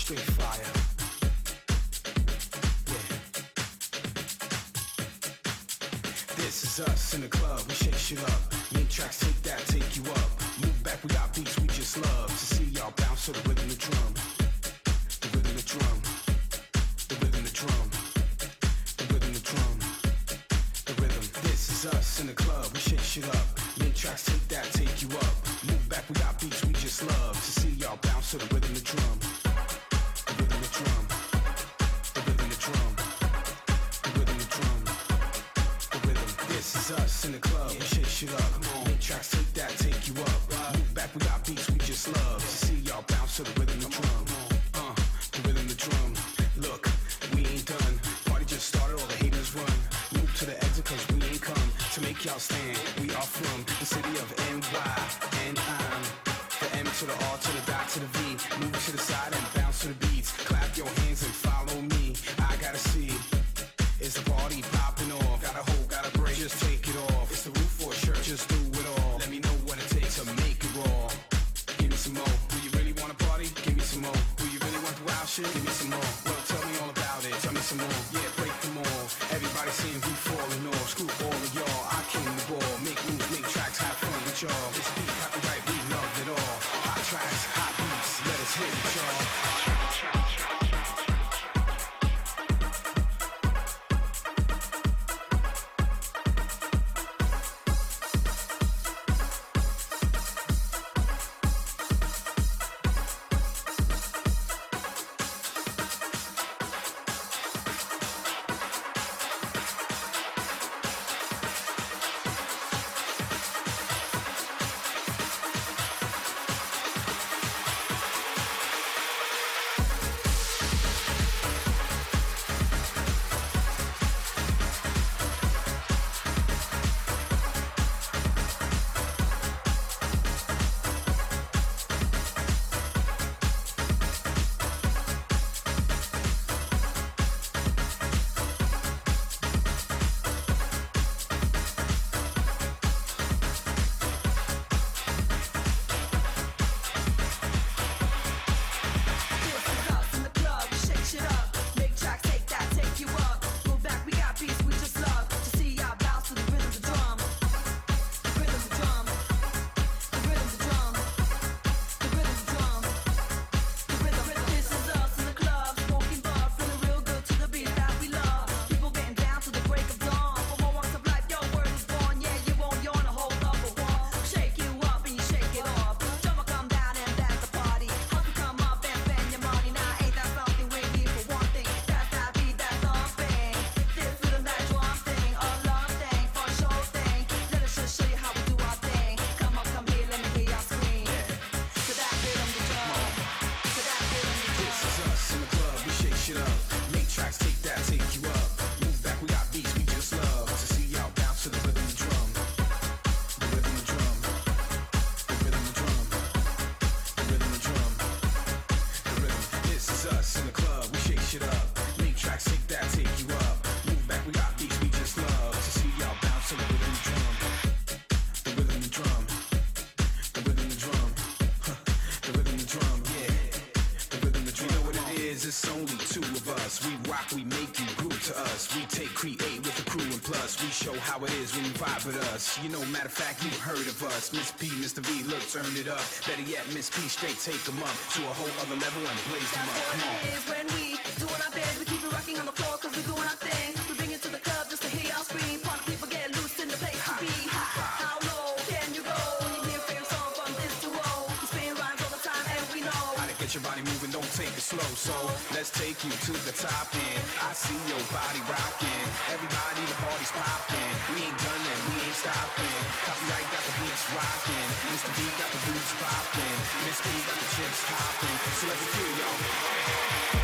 straight fire. Yeah. This is us in the club, we shake shit up. Make tracks, take that, take you up. Move back, we got beats we just love. To see y'all bounce to the rhythm of the drum. The rhythm of the drum. The rhythm of the drum. The rhythm of the drum. The rhythm. This is us in the club, we shake shit up. Make tracks, take that, take you up. Move back, we got beats we just love. To see y'all bounce to the rhythm of the drum. The rhythm of the drum. The rhythm of the drum. The rhythm of the drum. The rhythm. This is us in the club, we shake shit up. Make tracks, take that, take you up. Move back, we got beats we just love. To see y'all bounce to the rhythm of the drum. The rhythm of the drum. Look, we ain't done. Party just started, all the haters run. Move to the exit cause we ain't come to make y'all stand. We are from the city of NY, and I'm the M to the R to the dot to the V. Move to the side and bounce to the beats. Clap your hands and follow me. I gotta see, is the party popping off? Got a hole, got a break, just take it off. It's the roof for a shirt, just do it all. Let me know what it takes to make it raw. Give me some more. Do you really wanna party? Give me some more. Do you really want the wild shit? Give me some more. Well, tell me all about it. Tell me some more. Yeah, break them all. Everybody saying we falling off. Screw all of y'all. I came to ball. Make moves, make tracks, have fun with y'all. This beat copyright, we love it all. Hot tracks, hot beats. Let us hit it, y'all. You know, matter of fact, you've heard of us. Miss P, Mr. V, look, turn it up. Better yet, Miss P, straight take them up to a whole other level and blaze them up. Come on. That's what it is when we doing our best. We keep it rocking on the floor cause we're doing our thing. We bring it to the club just to hear y'all scream. Party people get loose in the place to be. How low can you go when you hear a favorite song from this to O? We spin rhymes all the time and we know how to get your body moving, don't take it slow. So let's take you to the top end. I see your body rocking. Everybody, the party's popping. We ain't done and we ain't stopping. Copyright got the beats rocking. Mr. B got the boots popping. Miss P got the chips popping. So let's hear y'all.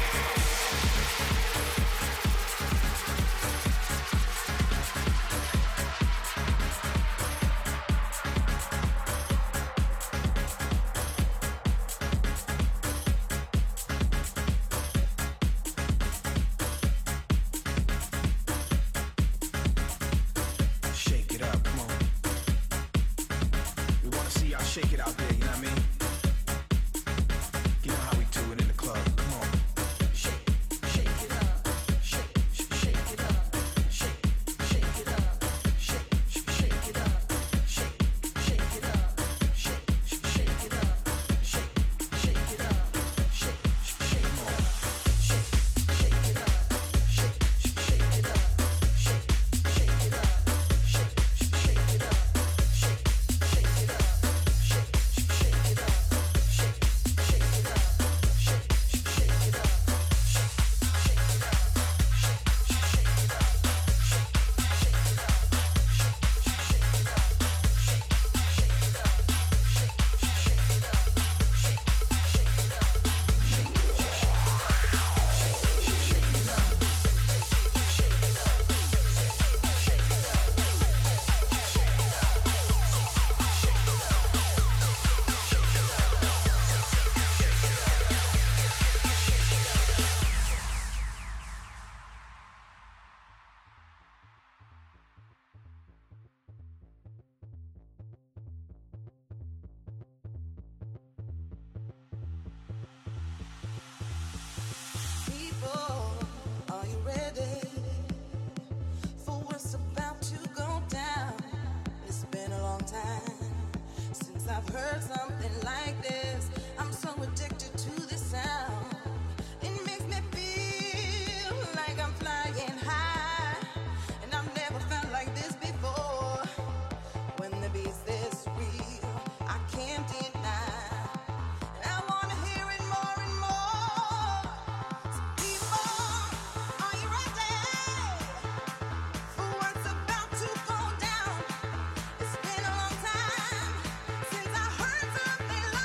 Shake it out there, you know what I mean? You know how we do it in the club, come on. I've heard something like this. I'm so addicted to the sound. It makes me feel like I'm flying high, and I've never felt like this before. When the beat's this real, I can't deny. And I wanna hear it more and more. So people, are you ready for what's about to go down? It's been a long time since I heard something like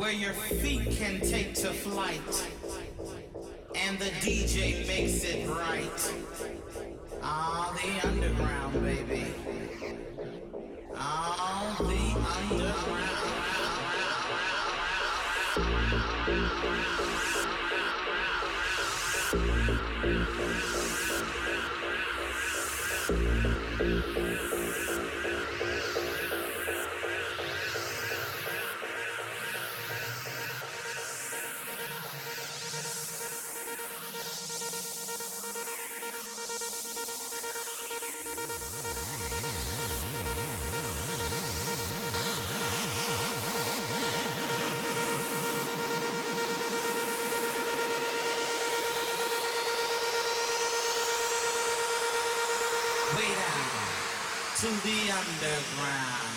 where your feet can take to flight, and the DJ makes it right. Ah, the underground, baby. Ah, the underground. To the underground.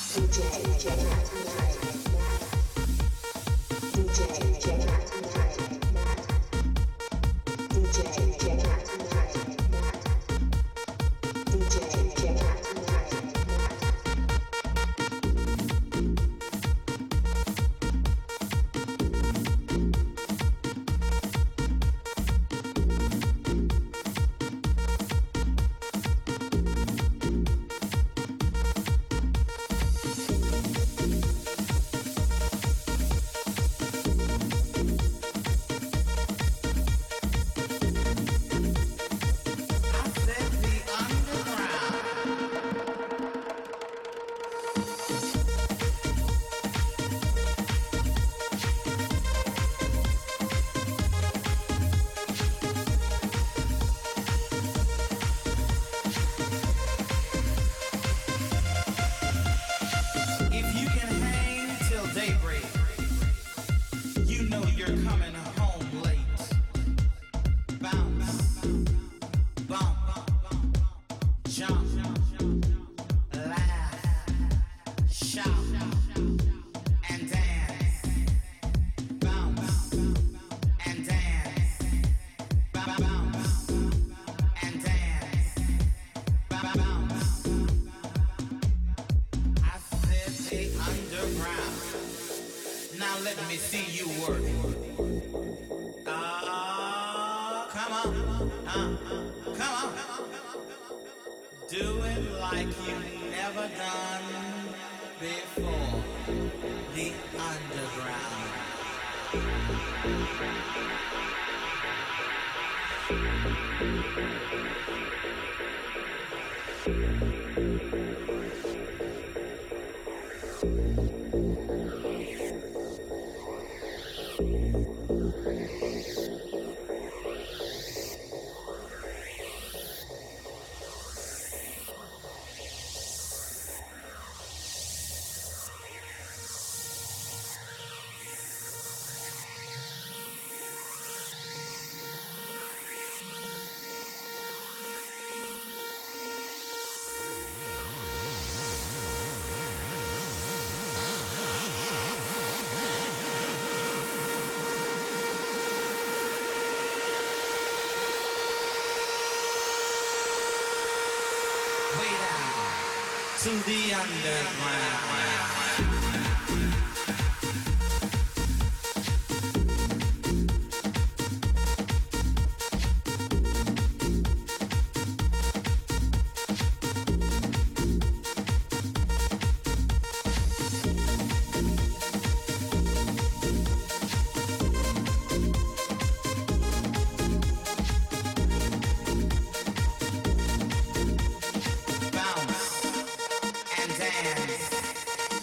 To the underground. Bounce and dance.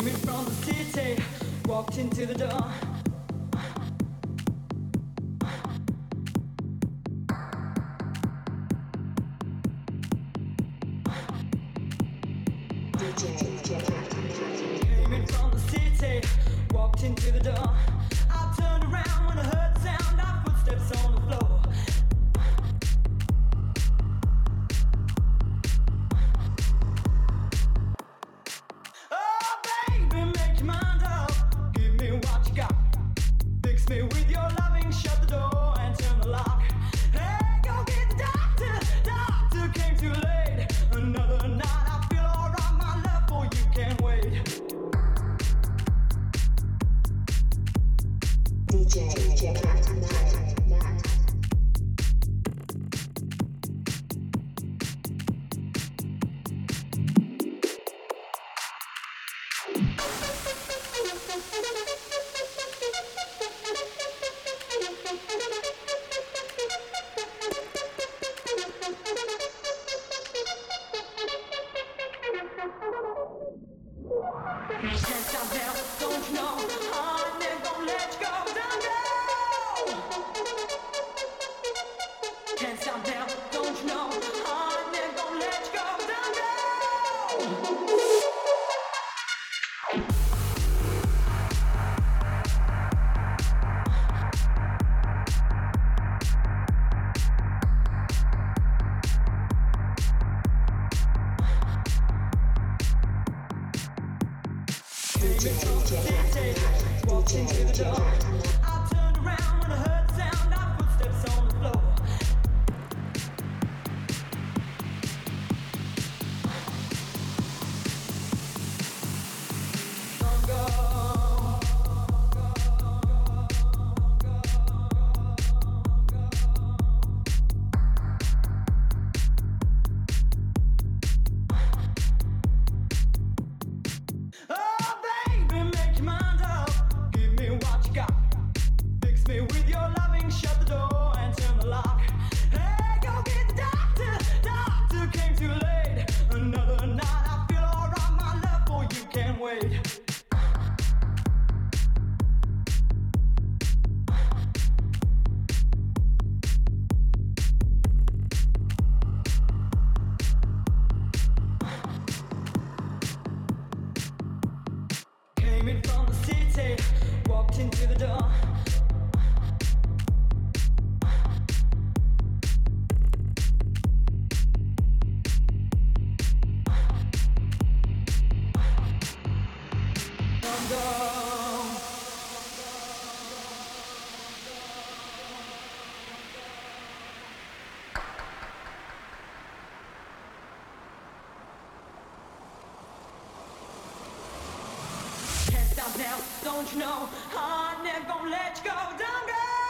Now, don't you know, I'm never gonna let you go, don't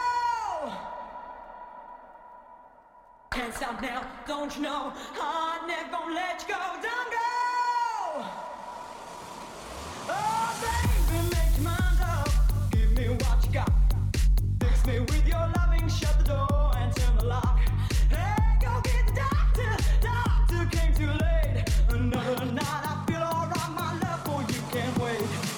go. Can't stop now, don't you know, I'm never gonna let you go, don't go. Oh, baby, make your mind up, give me what you got. Fix me with your loving, shut the door and turn the lock. Hey, go get the doctor came too late. Another night, I feel alright, my love for you can't wait.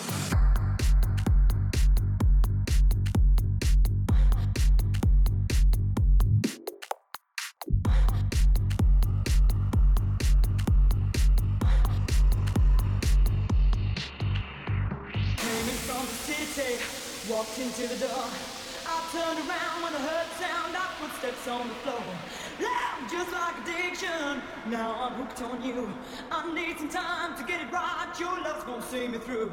Walked into the door, I turned around when I heard the sound of footsteps on the floor. Loud, just like addiction, now I'm hooked on you. I need some time to get it right, your love's gonna see me through.